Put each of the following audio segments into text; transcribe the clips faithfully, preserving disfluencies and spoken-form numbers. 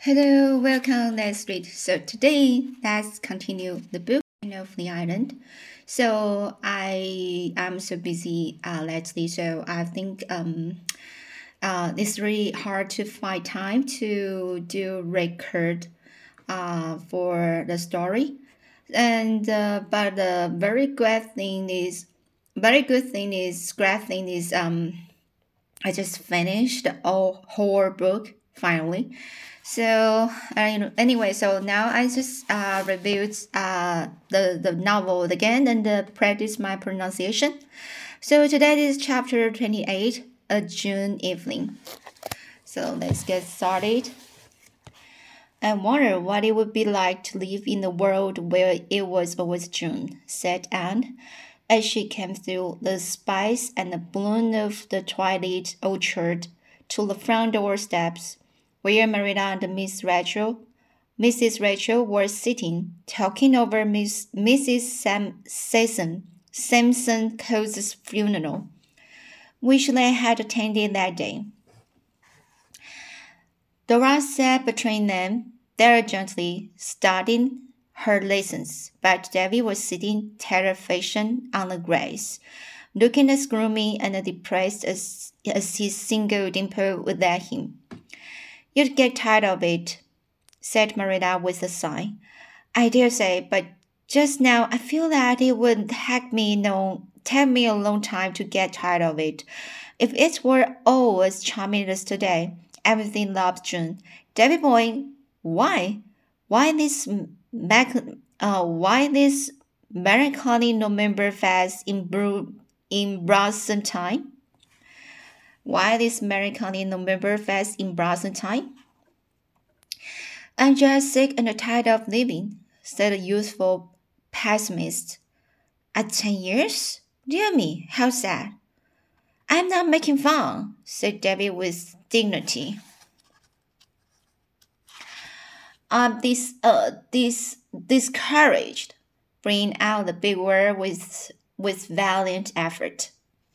Hello, welcome. Let's read. So today, let's continue the book of the island. So I am so busy uh, lately, so I think um uh it's really hard to find time to do record uh for the story. And uh, but the very good thing is, very good thing is, great thing is um I just finished the whole whole book finally. So uh, anyway, so now I just uh, reviewed uh, the the novel again and uh, practice my pronunciation. So today is chapter twenty eight, A June Evening. So let's get started. I wonder what it would be like to live in a world where it was always June, said Anne, as she came through the spice and the bloom of the twilight orchard to the front door steps, where Marilla and Miss Rachel, Missus Rachel were sitting, talking over Miss Missus Sam Sampson, Sampson Coates' funeral, which they had attended that day. Dora sat between them, diligently studying her lessons, but Davy was sitting terror-fashion on the grass, looking as gloomy and depressed as, as his single dimple would let him. You'd get tired of it, said Marilla with a sigh. I dare say, but just now I feel that it would take me no take me a long time to get tired of it. If it were all as charming as today, everything loves June. Davy boy, why? Why this mac uh why this melancholy November fest in Bru in blossom time? Why this melancholy November fest in blossom time? I'm just sick and tired of living, said the youthful pessimist. At ten years? Dear me, how sad. I'm not making fun, said Davy with dignity. I'm this uh this discouraged, bringing out the big word with with valiant effort.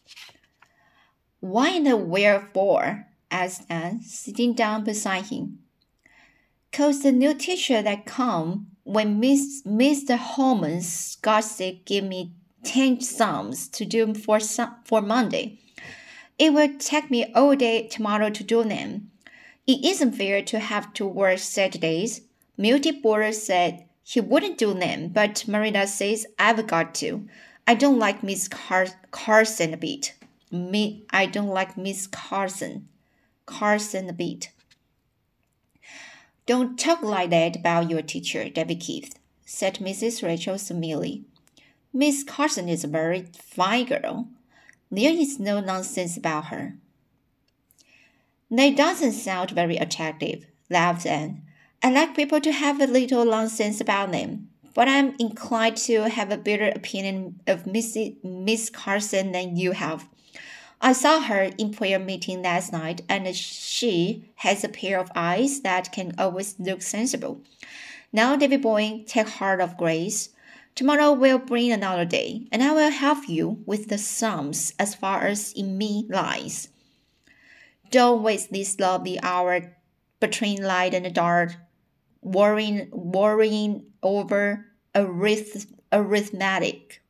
Why in the wherefore? Asked Anne, sitting down beside him. Cause the new teacher that come when Miss Mister Holman's got sick give me ten sums to do for for Monday. It will take me all day tomorrow to do them. It isn't fair to have to work Saturdays. Milty Borer said he wouldn't do them, but Marilla says I've got to. I don't like Miss Car- Carson a bit. Me, I don't like Miss Carson. Carson a bit. Don't talk like that about your teacher, Davy Keith, said Missus Rachel severely. Miss Carson is a very fine girl. There is no nonsense about her. That doesn't sound very attractive, laughed Anne. I like people to have a little nonsense about them, but I'm inclined to have a better opinion of Missus Miss Carson than you have. I saw her in prayer meeting last night, and she has a pair of eyes that can always look sensible. Now, Davy boy, take heart of grace. Tomorrow will bring another day, and I will help you with the sums as far as in me lies. Don't waste this lovely hour between light and dark, worrying, worrying over arith- arithmetic.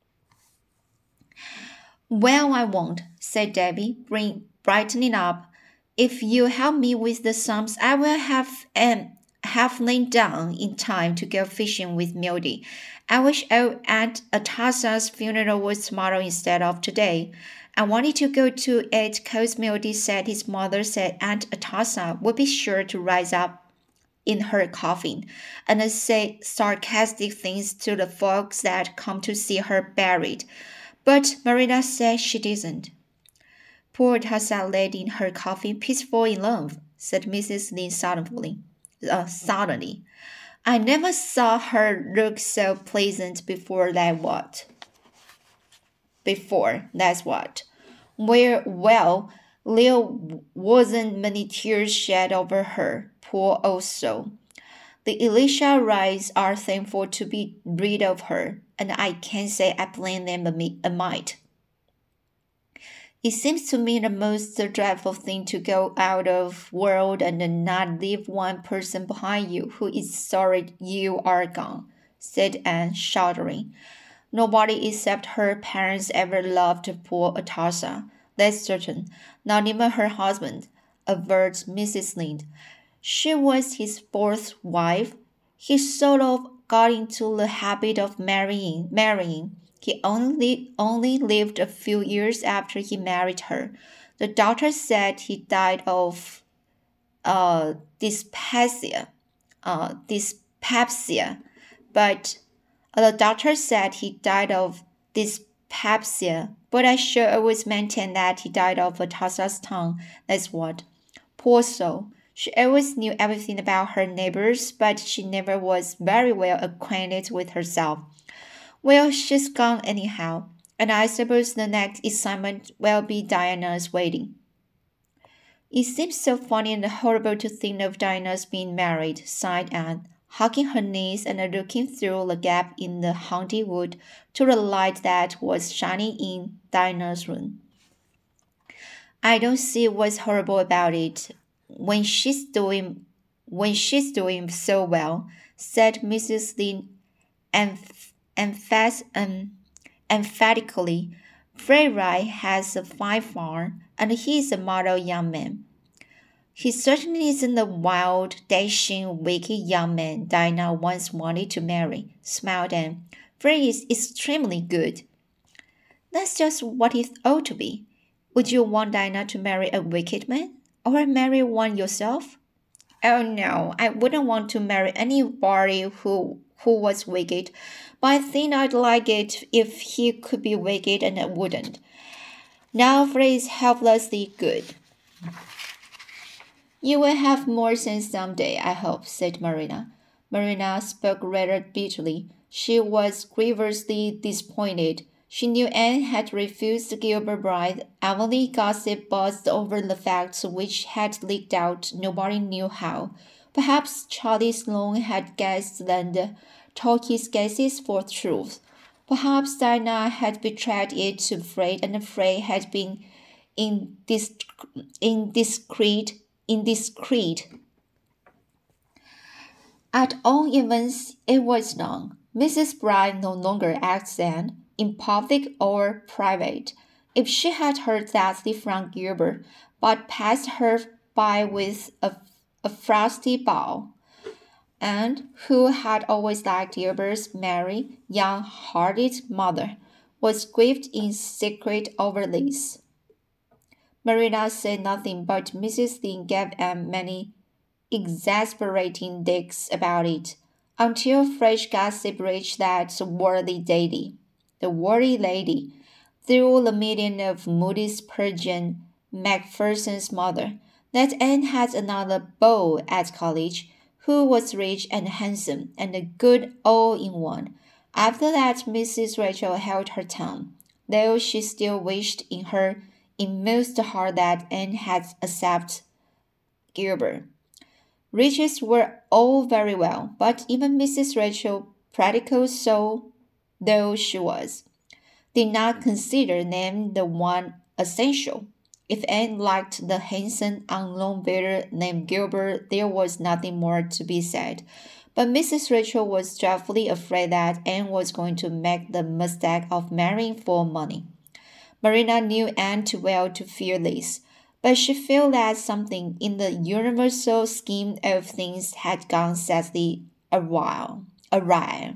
Well, I won't, said Davy, bring, brightening up. If you help me with the sums, I will have um, have lain down in time to go fishing with Mildy. I wish Aunt Atassa's funeral was tomorrow instead of today. I wanted to go to it because Mildy said his mother said Aunt Atassa would be sure to rise up in her coffin and say sarcastic things to the folks that come to see her buried. But Marilla said she didn't. Poor Tessa laid in her coffin peaceful in love, said Missus Lynde suddenly. Uh, suddenly. I never saw her look so pleasant before that what? Before, that's what. Where, well, there wasn't many tears shed over her, poor old soul. The Elisha Wrights are thankful to be rid of her, and I can't say I blame them a mite. It seems to me the most dreadful thing to go out of world and not leave one person behind you who is sorry you are gone, said Anne, shuddering. Nobody except her parents ever loved poor Atossa. That's certain. Not even her husband, averred Missus Lynde. She was his fourth wife. He sort of got into the habit of marrying, marrying. He only only lived a few years after he married her. The doctor said he died of uh, dyspepsia, uh, dyspepsia, but uh, the doctor said he died of dyspepsia, but I sure always maintain that he died of a Tassa's tongue. That's what. Poor soul. She always knew everything about her neighbors, but she never was very well acquainted with herself. Well, she's gone anyhow, and I suppose the next assignment will be Diana's wedding. It seems so funny and horrible to think of Diana's being married, sighed Anne, hugging her knees and looking through the gap in the haunted wood to the light that was shining in Diana's room. I don't see what's horrible about it when she's doing when she's doing so well, said Missus Lynde emph- emphas- um, emphatically. Fred Wright has a fine farm, and he is a model young man. He certainly isn't the wild, dashing, wicked young man Diana once wanted to marry, smiled Anne. Fred is extremely good. That's just what he ought to be. Would you want Diana to marry a wicked man? Or marry one yourself? Oh no, I wouldn't want to marry anybody who who was wicked, but I think I'd like it if he could be wicked and I wouldn't. Now Fred is helplessly good. You will have more sense some day, I hope, said Marina. Marina spoke rather bitterly. She was grievously disappointed. She knew Anne had refused Gilbert Blythe. Emily gossip buzzed over the facts which had leaked out nobody knew how. Perhaps Charlie Sloane had guessed and told his guesses for truth. Perhaps Diana had betrayed it to Fred and Fred had been indisc- indiscreet. indiscreet. At all events, it was known. Missus Blythe no longer acts Anne, in public or private. If she had heard that from Gilbert, but passed her by with a, a frosty bow, Anne, who had always liked Gilbert's merry, young-hearted mother, was grieved in secret over this. Marina said nothing, but Missus Lynde gave Anne many exasperating digs about it, until fresh gossip reached that worthy lady. The worthy lady, through the medium of Moody Spurgeon, Macpherson's mother, that Anne had another beau at college, who was rich and handsome and a good all in one. After that, Missus Rachel held her tongue, though she still wished in her inmost heart that Anne had accepted Gilbert. Riches were all very well, but even Missus Rachel, practical soul though she was, did not consider them the one essential. If Anne liked the handsome, unknown builder named Gilbert, there was nothing more to be said. But Missus Rachel was dreadfully afraid that Anne was going to make the mistake of marrying for money. Marina knew Anne too well to fear this, but she felt that something in the universal scheme of things had gone sadly awry. awry.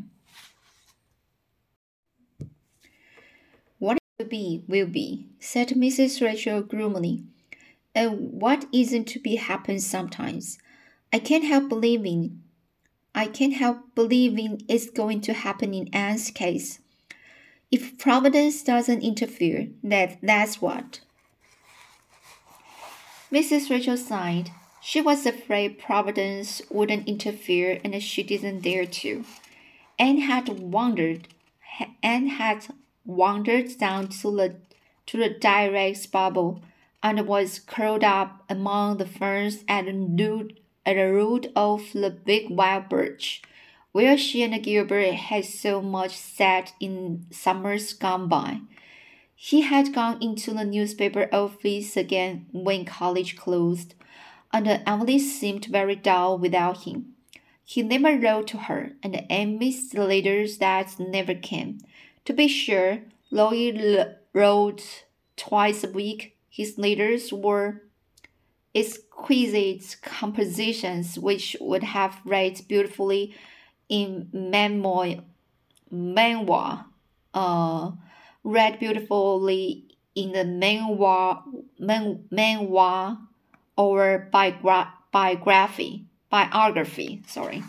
What will be, will be, said Missus Rachel gloomily. And what isn't to be happens sometimes. I can't help believing, I can't help believing it's going to happen in Anne's case. If Providence doesn't interfere, that, that's what. Missus Rachel sighed. She was afraid Providence wouldn't interfere and she didn't dare to. Anne had wandered Anne had wandered down to the to the direct bubble and was curled up among the ferns at the root at the root of the big wild birch, where she and Gilbert had so much sat in summers gone by. He had gone into the newspaper office again when college closed, and Emily seemed very dull without him. He never wrote to her, and Anne missed the letters that never came. To be sure, Lloyd wrote twice a week. His letters were exquisite compositions which would have read beautifully in memoir, memoir uh, read beautifully in the memoir, men, memoir or biogra- biography, biography, sorry.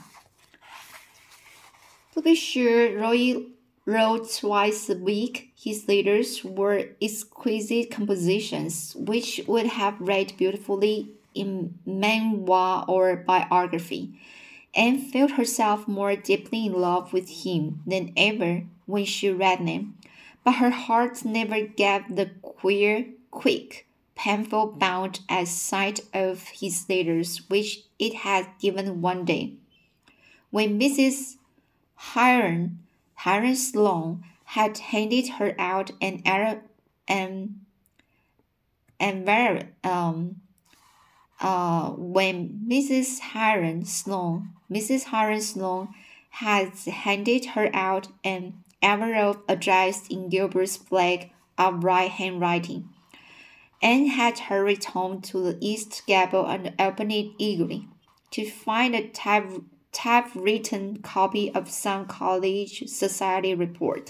To be sure, Roy wrote twice a week. His letters were exquisite compositions, which would have read beautifully in memoir or biography. Anne felt herself more deeply in love with him than ever when she read them, but her heart never gave the queer, quick, painful bound at sight of his letters which it had given one day. When Missus Hiram, Hiram Sloane had handed her out an Arab and and very um uh when Missus Hiram Sloane Missus Hiram Sloane had handed her out an envelope addressed in Gilbert's black upright handwriting, Anne had hurried home to the east gable and opened it eagerly, to find a type typewritten copy of some college society report.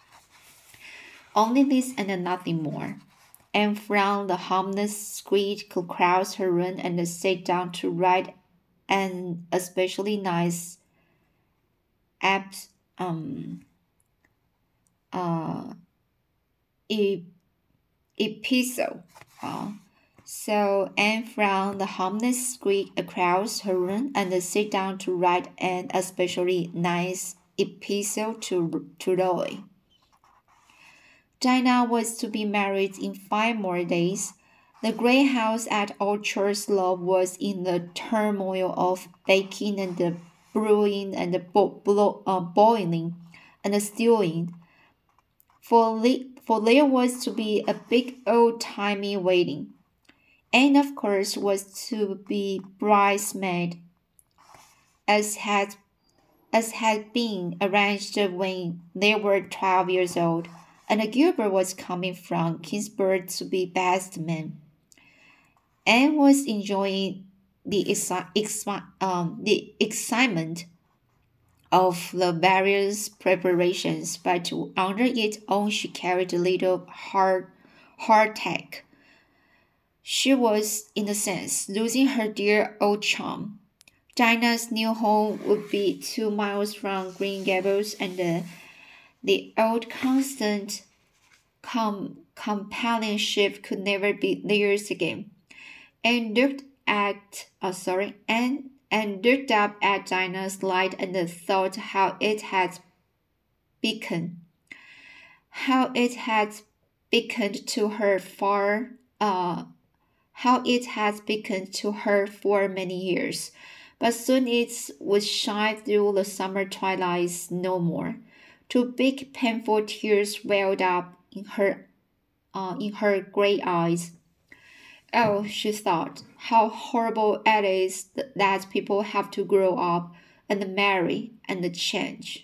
Only this and nothing more. Anne found the harmless squid could cross her room and sit down to write an especially nice ep- um, uh, e- epistle. Uh, so Anne found the harmless squid across her room and sat down to write an especially nice epistle to, to Roy. Dinah was to be married in five more days. The great house at Orchard Slope was in the turmoil of baking and the brewing and the bo- blo- uh, boiling and the stewing. For, le- for there was to be a big old-timey wedding. Anne, of course, was to be bridesmaid, as had as had been arranged when they were twelve years old, and Gilbert was coming from Kingsburg to be best man. Anne was enjoying the, exci- exci- um, the excitement of the various preparations, but under it all she carried a little heart heartache. She was, in a sense, losing her dear old chum. Dinah's new home would be two miles from Green Gables, and the, the old constant com- companionship could never be theirs again. And looked at, oh sorry, and and looked up at Dinah's light and thought how it had beaconed, how it had beaconed to her far, uh, how it had beaconed to her for many years. But soon it would shine through the summer twilights no more. Two big painful tears welled up in her, uh, in her grey eyes. Oh, she thought, how horrible it is that people have to grow up and marry and change.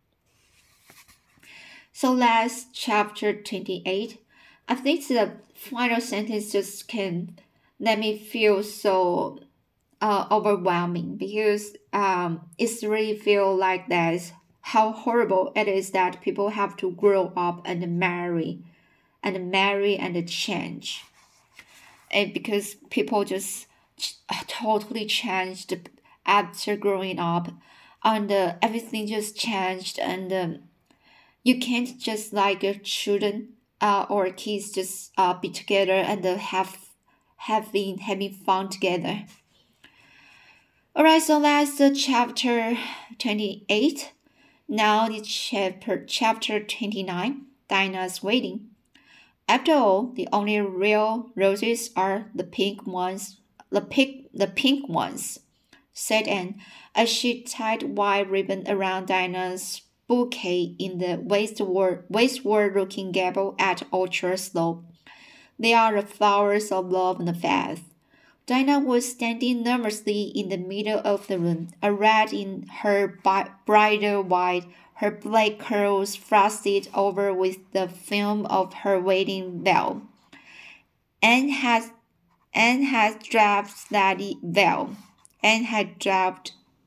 So that's chapter twenty-eight. I think the final sentence just can let me feel so uh, overwhelming because um, it's really feel like that how horrible it is that people have to grow up and marry and marry and change. And because people just totally changed after growing up and uh, everything just changed and um, you can't just like uh, children uh, or kids just uh, be together and uh, have having having fun together. Alright, so that's the chapter twenty-eight. Now the chapter chapter twenty-nine, Dinah's wedding. After all, the only real roses are the pink ones, the pink, the pink ones, said Anne, as she tied white ribbon around Dinah's bouquet in the westward, westward-looking gable at Orchard Slope. They are the flowers of love and faith. Dinah was standing nervously in the middle of the room, arrayed in her bridal white, her black curls frosted over with the film of her wedding veil. Anne had, Anne had dropped that veil. Anne had dropped,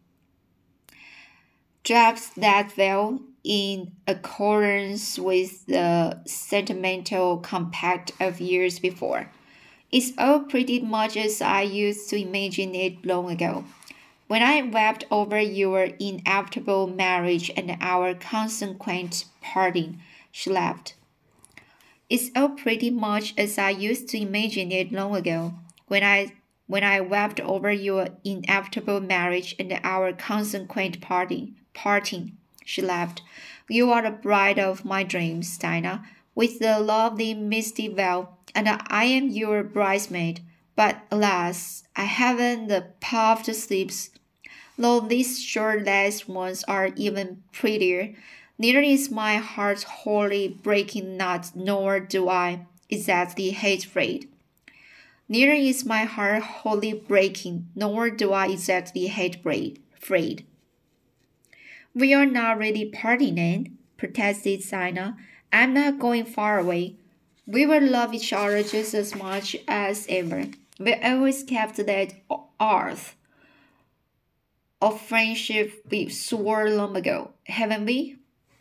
dropped that veil in accordance with the sentimental compact of years before. It's all pretty much as I used to imagine it long ago, when I wept over your inevitable marriage and our consequent parting, she laughed. It's all pretty much as I used to imagine it long ago, when I when I wept over your inevitable marriage and our consequent parting, parting, she laughed. You are the bride of my dreams, Dinah, with the lovely misty veil, and I am your bridesmaid. But alas, I haven't the puffed sleeves, though these short-legged ones are even prettier. Neither is my heart wholly breaking not, nor do I exactly hate Fred. Neither is my heart wholly breaking, nor do I exactly hate Fred. We are not really parting, Anne, protested Dinah. I'm not going far away. We will love each other just as much as ever. We always kept that oath of friendship we swore long ago, haven't we?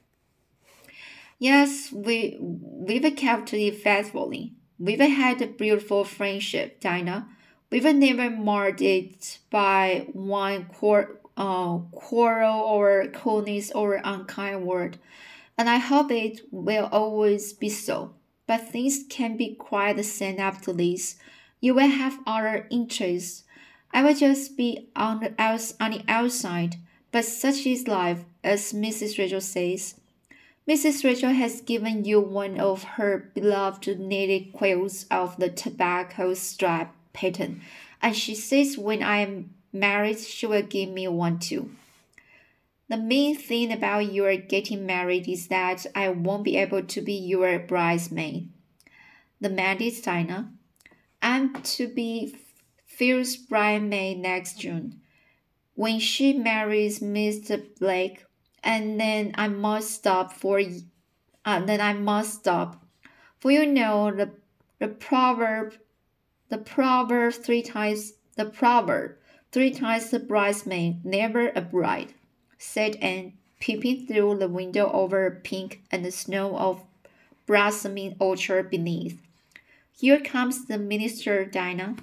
Yes, we we've kept it faithfully. We've had a beautiful friendship, Dinah. We've never marred it by one quar- uh, quarrel or coldness or unkind word, and I hope it will always be so. But things can be quite the same after this. You will have other interests. I will just be on the, outs- on the outside, but such is life, as Missus Rachel says. Missus Rachel has given you one of her beloved knitted quilts of the tobacco stripe pattern, and she says when I am married she will give me one too. The main thing about your getting married is that I won't be able to be your bridesmaid. The man is Dinah. I'm to be Phil's bridesmaid next June, when she marries Mister Blake, and then I must stop for uh, then I must stop. For you know the the proverb the proverb three times the proverb three times the bridesmaid, never a bride, said Anne, peeping through the window over a pink and snow of blossoming orchard beneath. Here comes the minister, Dinah.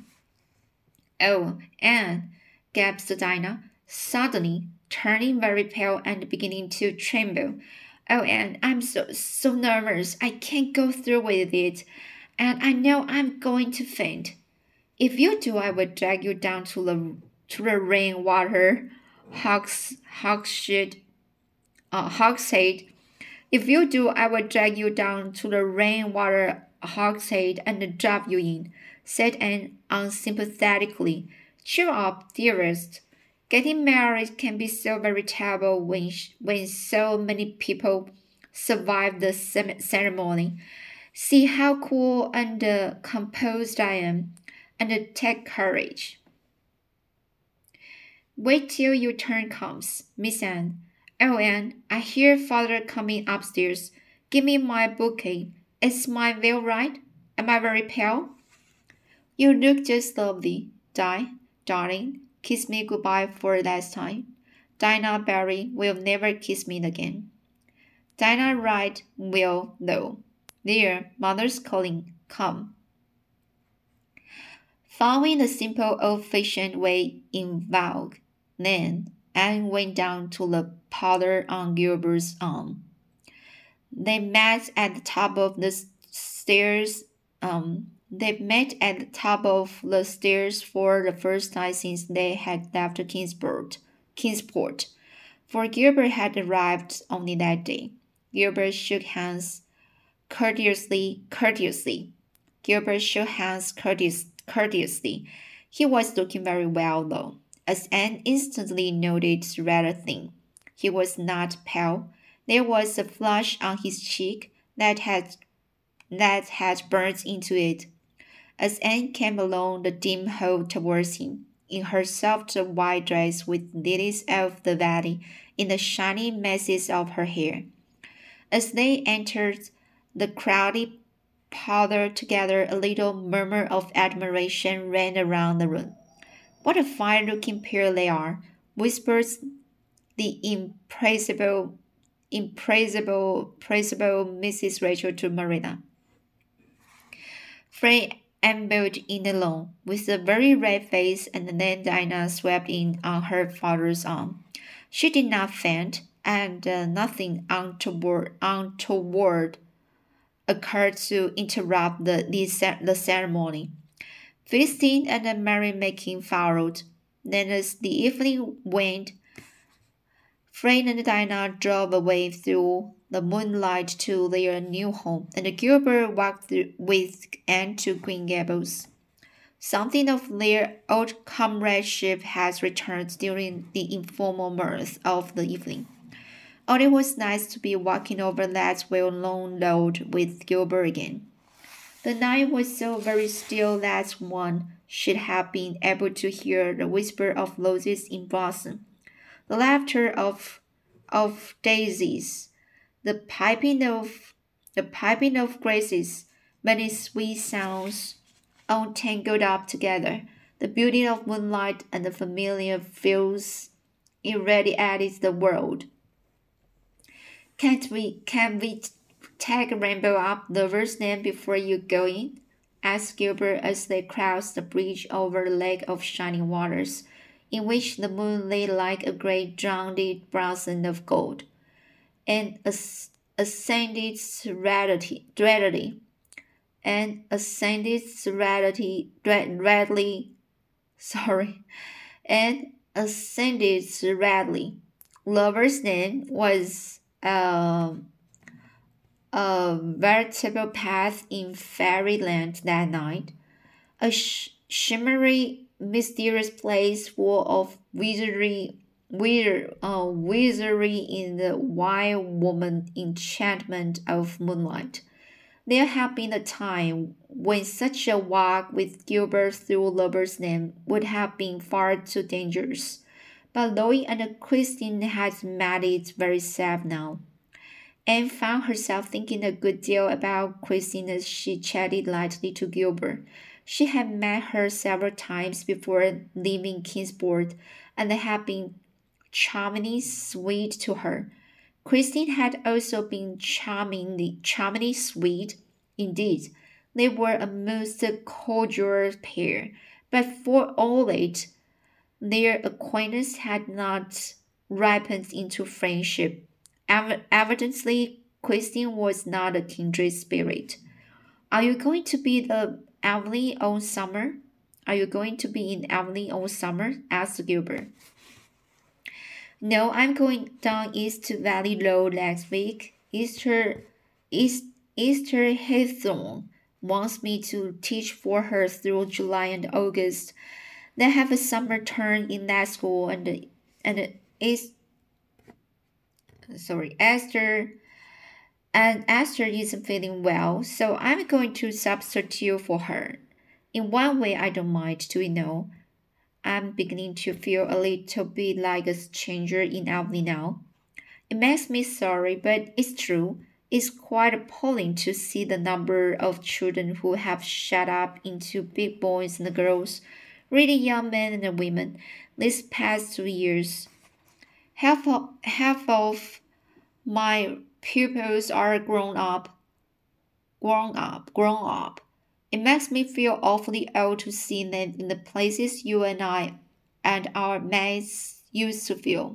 Oh, Anne, gasped Dinah, suddenly turning very pale and beginning to tremble. Oh, Anne, I'm so so nervous. I can't go through with it, and I know I'm going to faint. If you do, I will drag you down to the to the rainwater hogs hogshead uh, hogshead. If you do, I will drag you down to the rainwater hogshead and drop you in, said Anne unsympathetically. Cheer up, dearest. Getting married can be so very terrible when, when so many people survive the ceremony. See how cool and uh, composed I am, and uh, take courage. Wait till your turn comes, Miss Anne. Oh, Anne, I hear father coming upstairs. Give me my bouquet. Is my veil right? Am I very pale? You look just lovely, Di, darling. Kiss me goodbye for the last time. Dinah Barry will never kiss me again. Dinah Wright will, though. There, mother's calling. Come. Following the simple old-fashioned way in vogue, then Anne went down to the parlor on Gilbert's arm. They met at the top of the stairs. Um, they met at the top of the stairs for the first time since they had left Kingsport. Kingsport, for Gilbert had arrived only that day. Gilbert shook hands courteously. Courteously, Gilbert shook hands courteous, courteously. He was looking very well, though, as Anne instantly noted, rather thin. He was not pale. There was a flush on his cheek that had that had burned into it. As Anne came along the dim hall towards him, in her soft white dress with lilies of the valley in the shining masses of her hair. As they entered the crowded parlor together, a little murmur of admiration ran around the room. "What a fine-looking pair they are," whispered the impressible, impressible, impressible Missus Rachel to Marilla. Fred ambled in alone, with a very red face, and then Dinah swept in on her father's arm. She did not faint, and uh, nothing untoward, untoward occurred to interrupt the, the, the ceremony. Feasting and merrymaking followed. Then, as the evening waned, Fred and Dinah drove away through the moonlight to their new home, and Gilbert walked through with Anne to Green Gables. Something of their old comradeship has returned during the informal mirth of the evening. Oh, it was nice to be walking over that well-known road with Gilbert again. The night was so very still that one should have been able to hear the whisper of roses in blossom, the laughter of of daisies, the piping of the piping of grasses, many sweet sounds all tangled up together. The beauty of moonlight and the familiar fields irradiated the world. Can't we can we take Rainbow up Lover's Lane before you go in? Asked Gilbert as they crossed the bridge over the lake of shining waters, in which the moon lay like a great drowned blossom of gold, and ascended readily, and ascended readily, readily, sorry, and ascended readily. Lover's Lane was uh, a veritable path in fairyland that night, a sh- shimmery, mysterious place full of wizardry, wizard, uh, wizardry in the wild woman enchantment of moonlight. There had been a time when such a walk with Gilbert through Lover's Lane would have been far too dangerous, but Lois and Christine had made it very safe now. Anne found herself thinking a good deal about Christine as she chatted lightly to Gilbert. She had met her several times before leaving Kingsport, and had been charmingly sweet to her. Christine had also been charmingly, charmingly sweet. Indeed, they were a most cordial pair, but for all that, their acquaintance had not ripened into friendship. Evidently, Christine was not a kindred spirit. "Are you going to be the Avonlea all summer? Are you going to be in Avonlea all summer?" asked Gilbert. "No, I'm going down east to Valley Road next week. Easter, East, Easter Haythorne wants me to teach for her through July and August. They have a summer term in that school, and and it's sorry, Esther, and Esther isn't feeling well, so I'm going to substitute for her. In one way, I don't mind, do you know? I'm beginning to feel a little bit like a stranger in Avonlea now. It makes me sorry, but it's true. It's quite appalling to see the number of children who have shut up into big boys and girls, really young men and women, these past two years. Half of, half of my pupils are grown up, grown up, grown up. It makes me feel awfully old to see them in the places you and I and our mates used to feel."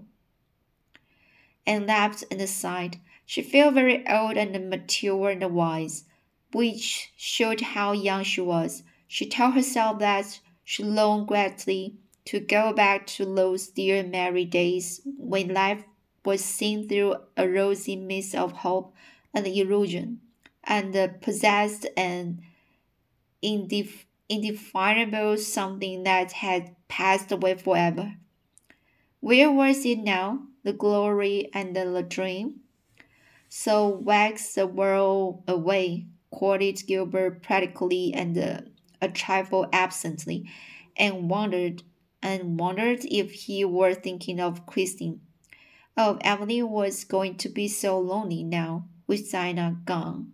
And laughed and sighed. She felt very old and mature and wise, which showed how young she was. She told herself that she longed greatly to go back to those dear merry days when life was seen through a rosy mist of hope and illusion, and possessed an indef- indefinable something that had passed away forever. Where was it now, the glory and the dream? So wax the world away, quoted Gilbert practically and uh, a trifle absently, and wondered and wondered if he were thinking of quitting. Oh, Emily was going to be so lonely now with Dinah gone.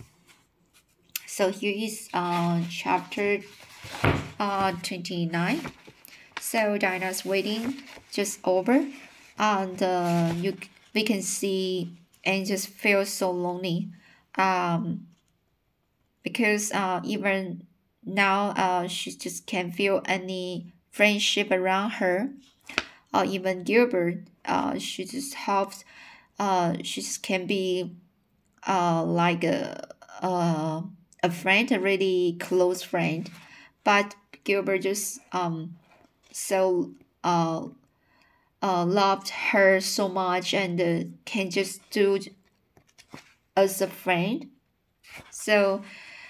So here is uh, chapter uh, twenty-nine. So Dinah's wedding just over, and uh, you we can see and just feel so lonely, um, because uh, even now uh, she just can't feel any friendship around her, or even Gilbert. Uh, she just hopes uh, she just can be uh, like a, a a friend, a really close friend, but Gilbert just um so uh, uh loved her so much and uh, can just do as a friend. So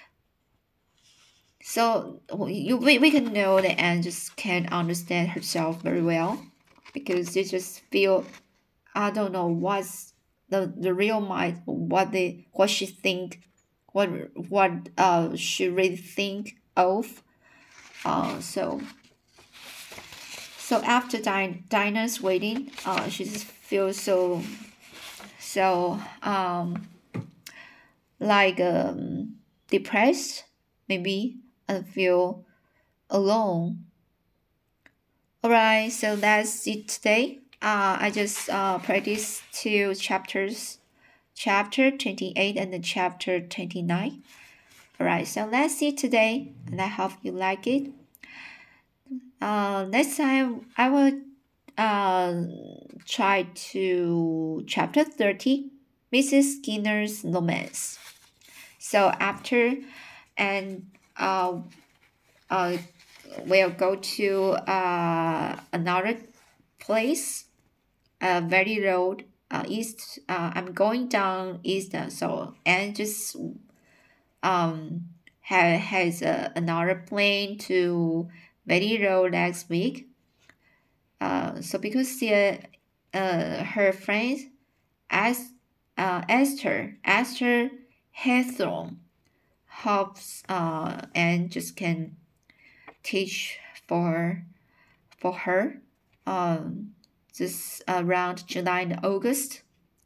so you we, we can know that Anne just can't understand herself very well because they just feel I don't know what's the the real mind what they what she think what what uh she really think of uh so so after Din- Dinah's wedding uh she just feels so so um like um depressed maybe and feel alone. All right, so that's it today. Uh, I just uh practiced two chapters, chapter twenty-eight and the chapter twenty-nine. All right, so let's see today, and I hope you like it. Uh, next time I will uh try to chapter thirty, Missus Skinner's romance. So after and uh uh we'll go to uh another place, uh Valley Road, uh east. Uh, I'm going down east, uh, so and just um ha has uh, another plane to Valley Road next week. Uh, so because the uh her friend as uh Esther Esther Hawthorne helps uh and just can teach for for her um just around July and August.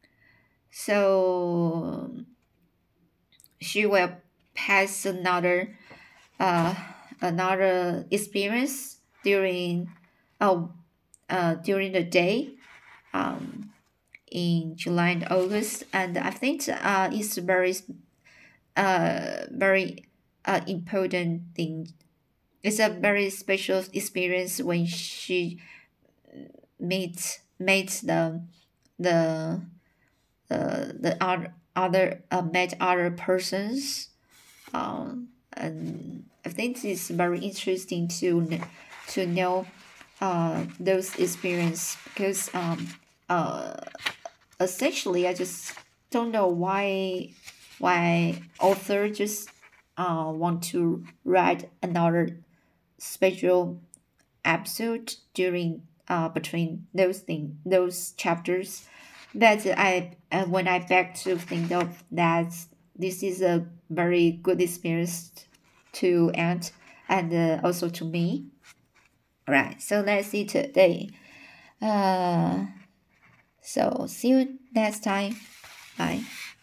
So she will pass another uh another experience during oh uh during the day um in July and August, and I think uh it's very uh very uh important thing. It's a very special experience when she meets meets the the uh, the other other uh, met other persons. Um, and I think it's very interesting to kn- to know uh those experience because um uh essentially I just don't know why why author just uh want to write another special episode during uh between those thing those chapters that I uh, when I back to think of that this is a very good experience to Aunt and uh, also to me. All right, so let's see today. Uh, so see you next time. Bye.